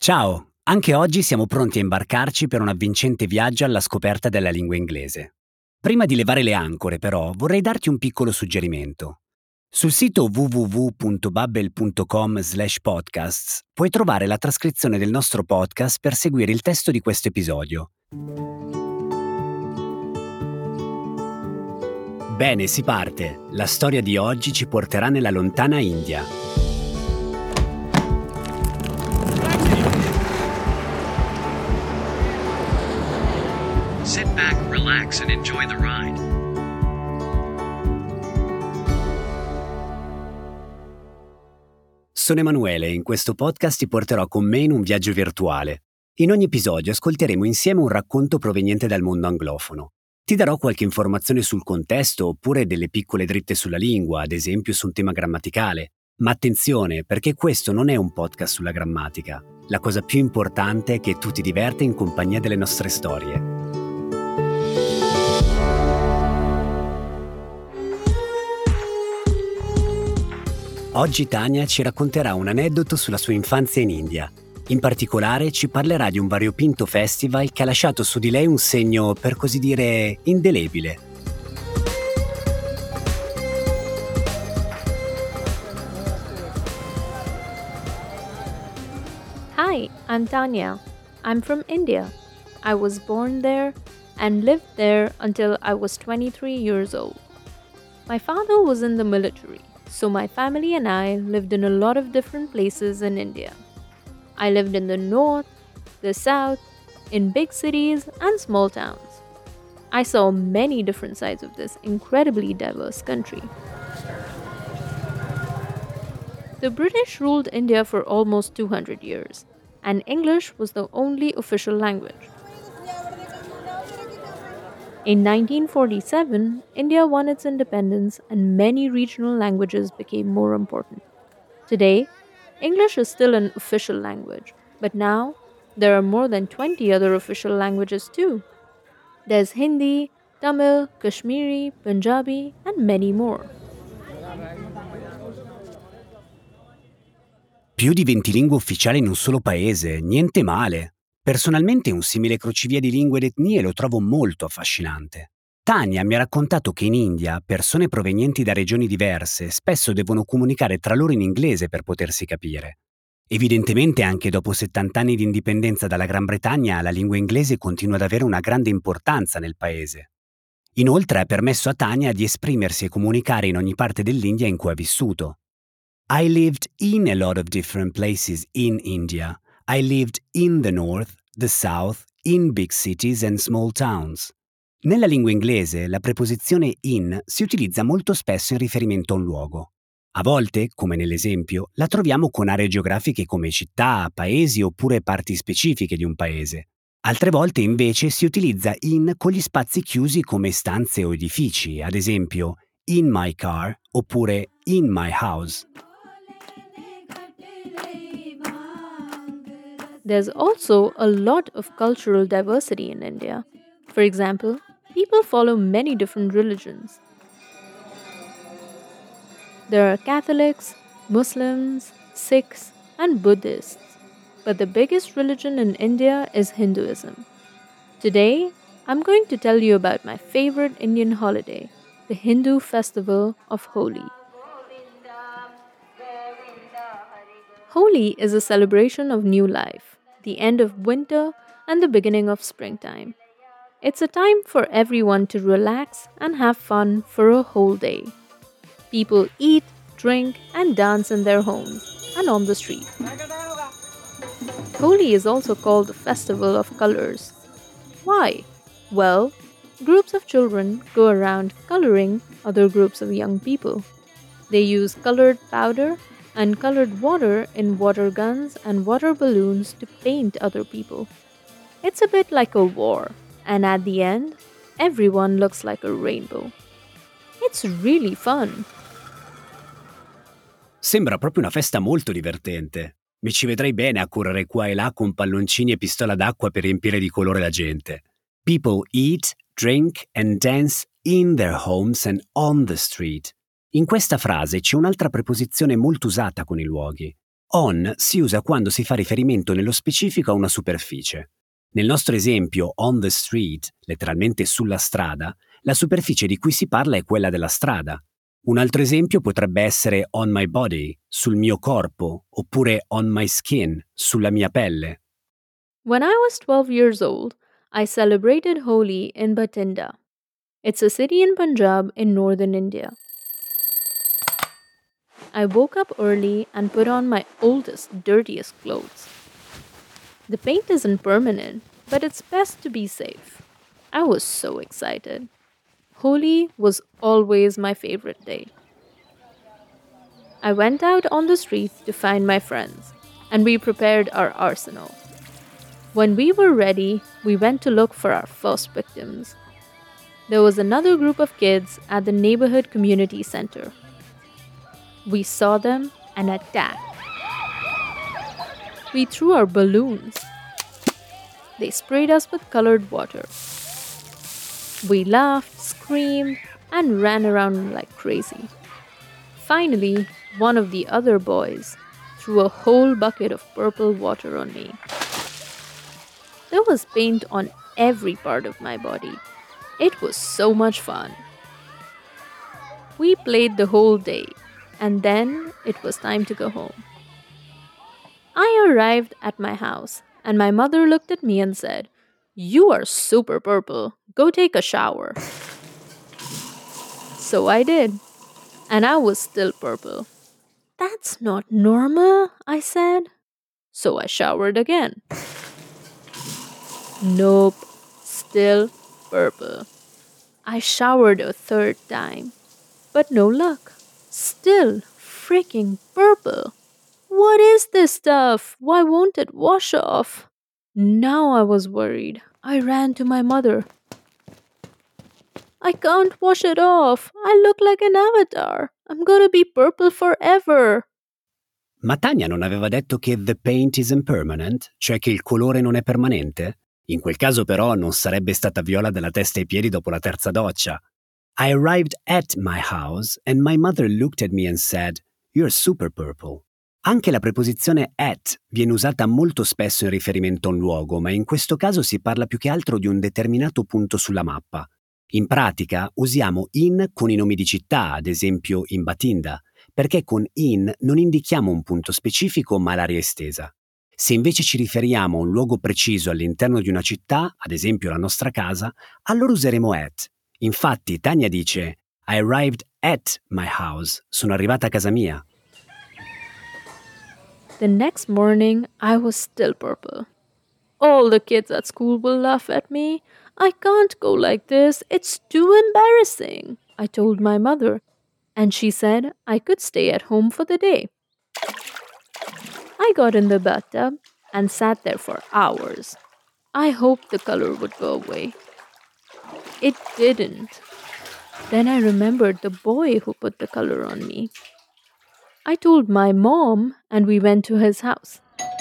Ciao! Anche oggi siamo pronti a imbarcarci per un avvincente viaggio alla scoperta della lingua inglese. Prima di levare le ancore, però, vorrei darti un piccolo suggerimento. Sul sito www.babbel.com/podcasts puoi trovare la trascrizione del nostro podcast per seguire il testo di questo episodio. Bene, si parte! La storia di oggi ci porterà nella lontana India. Sit back, relax and enjoy the ride. Sono Emanuele e in questo podcast ti porterò con me in un viaggio virtuale. In ogni episodio ascolteremo insieme un racconto proveniente dal mondo anglofono. Ti darò qualche informazione sul contesto oppure delle piccole dritte sulla lingua, ad esempio su un tema grammaticale. Ma attenzione, perché questo non è un podcast sulla grammatica. La cosa più importante è che tu ti diverta in compagnia delle nostre storie. Oggi Tania ci racconterà un aneddoto sulla sua infanzia in India. In particolare ci parlerà di un variopinto festival che ha lasciato su di lei un segno, per così dire, indelebile. Hi, I'm Tanya. I'm from India. I was born there and lived there until I was 23 years old. My father was in the military, so my family and I lived in a lot of different places in India. I lived in the north, the south, in big cities and small towns. I saw many different sides of this incredibly diverse country. The British ruled India for almost 200 years, and English was the only official language. In 1947, India won its independence and many regional languages became more important. Today, English is still an official language, but now there are more than 20 other official languages too. There's Hindi, Tamil, Kashmiri, Punjabi, and many more. Più di 20 lingue ufficiali in un solo paese, niente male. Personalmente un simile crocevia di lingue ed etnie lo trovo molto affascinante. Tania mi ha raccontato che in India persone provenienti da regioni diverse spesso devono comunicare tra loro in inglese per potersi capire. Evidentemente anche dopo 70 anni di indipendenza dalla Gran Bretagna la lingua inglese continua ad avere una grande importanza nel paese. Inoltre ha permesso a Tania di esprimersi e comunicare in ogni parte dell'India in cui ha vissuto. I lived in a lot of different places in India. I lived in the north, the south, in big cities and small towns. Nella lingua inglese la preposizione in si utilizza molto spesso in riferimento a un luogo. A volte, come nell'esempio, la troviamo con aree geografiche come città, paesi oppure parti specifiche di un paese. Altre volte invece si utilizza in con gli spazi chiusi come stanze o edifici, ad esempio in my car oppure in my house. There's also a lot of cultural diversity in India. For example, people follow many different religions. There are Catholics, Muslims, Sikhs, and Buddhists. But the biggest religion in India is Hinduism. Today, I'm going to tell you about my favorite Indian holiday, the Hindu festival of Holi. Holi is a celebration of new life, the end of winter and the beginning of springtime. It's a time for everyone to relax and have fun for a whole day. People eat, drink, and dance in their homes and on the street. Holi is also called the Festival of Colors. Why? Well, groups of children go around coloring other groups of young people. They use colored powder and colored water in water guns and water balloons to paint other people. It's a bit like a war, and at the end, everyone looks like a rainbow. It's really fun. Sembra proprio una festa molto divertente. Mi ci vedrei bene a correre qua e là con palloncini e pistola d'acqua per riempire di colore la gente. People eat, drink and dance in their homes and on the street. In questa frase c'è un'altra preposizione molto usata con i luoghi. On si usa quando si fa riferimento nello specifico a una superficie. Nel nostro esempio on the street, letteralmente sulla strada, la superficie di cui si parla è quella della strada. Un altro esempio potrebbe essere on my body, sul mio corpo, oppure on my skin, sulla mia pelle. When I was 12 years old, I celebrated Holi in Bathinda. It's a city in Punjab in northern India. I woke up early and put on my oldest, dirtiest clothes. The paint isn't permanent, but it's best to be safe. I was so excited. Holi was always my favorite day. I went out on the street to find my friends, and we prepared our arsenal. When we were ready, we went to look for our first victims. There was another group of kids at the neighborhood community center. We saw them and attacked. We threw our balloons. They sprayed us with colored water. We laughed, screamed, and ran around like crazy. Finally, one of the other boys threw a whole bucket of purple water on me. There was paint on every part of my body. It was so much fun. We played the whole day, and then it was time to go home. I arrived at my house, and my mother looked at me and said, "You are super purple. Go take a shower." So I did, and I was still purple. "That's not normal," I said. So I showered again. Nope, still purple. I showered a third time, but no luck. Still freaking purple. What is this stuff? Why won't it wash off? Now I was worried. I ran to my mother. "I can't wash it off. I look like an avatar. I'm gonna be purple forever." Ma Tania non aveva detto che the paint is impermanent, cioè che il colore non è permanente? In quel caso però non sarebbe stata viola dalla testa ai piedi dopo la terza doccia. I arrived at my house and my mother looked at me and said, "You're super purple." Anche la preposizione at viene usata molto spesso in riferimento a un luogo, ma in questo caso si parla più che altro di un determinato punto sulla mappa. In pratica usiamo in con i nomi di città, ad esempio in Bathinda, perché con in non indichiamo un punto specifico ma l'area estesa. Se invece ci riferiamo a un luogo preciso all'interno di una città, ad esempio la nostra casa, allora useremo at. Infatti Tania dice I arrived at my house, sono arrivata a casa mia. The next morning, I was still purple. All the kids at school will laugh at me. "I can't go like this. It's too embarrassing," I told my mother, and she said I could stay at home for the day. I got in the bathtub and sat there for hours. I hoped the color would go away. It didn't. Then I remembered the boy who put the color on me. I told my mom, and we went to his house.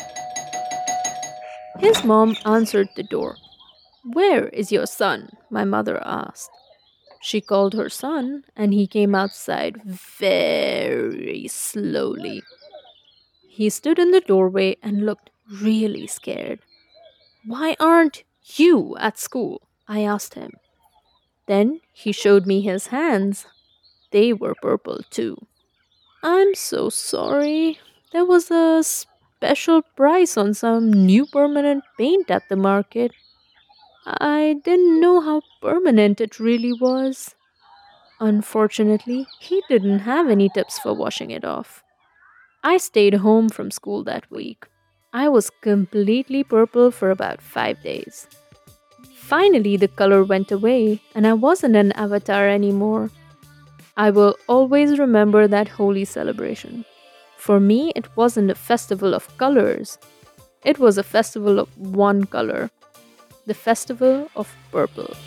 His mom answered the door. "Where is your son?" my mother asked. She called her son, and he came outside very slowly. He stood in the doorway and looked really scared. "Why aren't you at school?" I asked him. Then he showed me his hands. They were purple too. "I'm so sorry. There was a special price on some new permanent paint at the market. I didn't know how permanent it really was." Unfortunately, he didn't have any tips for washing it off. I stayed home from school that week. I was completely purple for about 5 days. Finally, the color went away, and I wasn't an avatar anymore. I will always remember that Holi celebration. For me, it wasn't a festival of colors. It was a festival of one color. The festival of purple.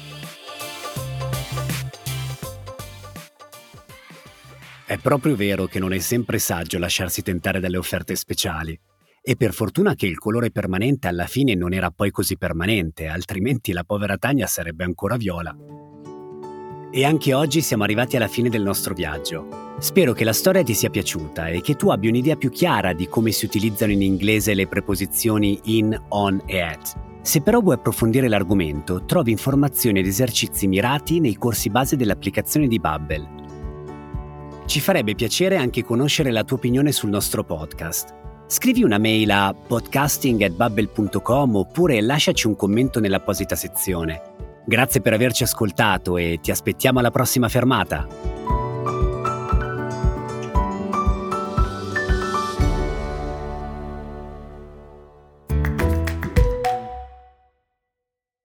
È proprio vero che non è sempre saggio lasciarsi tentare dalle offerte speciali. E per fortuna che il colore permanente alla fine non era poi così permanente, altrimenti la povera Tania sarebbe ancora viola. E anche oggi siamo arrivati alla fine del nostro viaggio. Spero che la storia ti sia piaciuta e che tu abbia un'idea più chiara di come si utilizzano in inglese le preposizioni in, on e at. Se però vuoi approfondire l'argomento, trovi informazioni ed esercizi mirati nei corsi base dell'applicazione di Babbel. Ci farebbe piacere anche conoscere la tua opinione sul nostro podcast. Scrivi una mail a podcasting@babbel.com oppure lasciaci un commento nell'apposita sezione. Grazie per averci ascoltato e ti aspettiamo alla prossima fermata.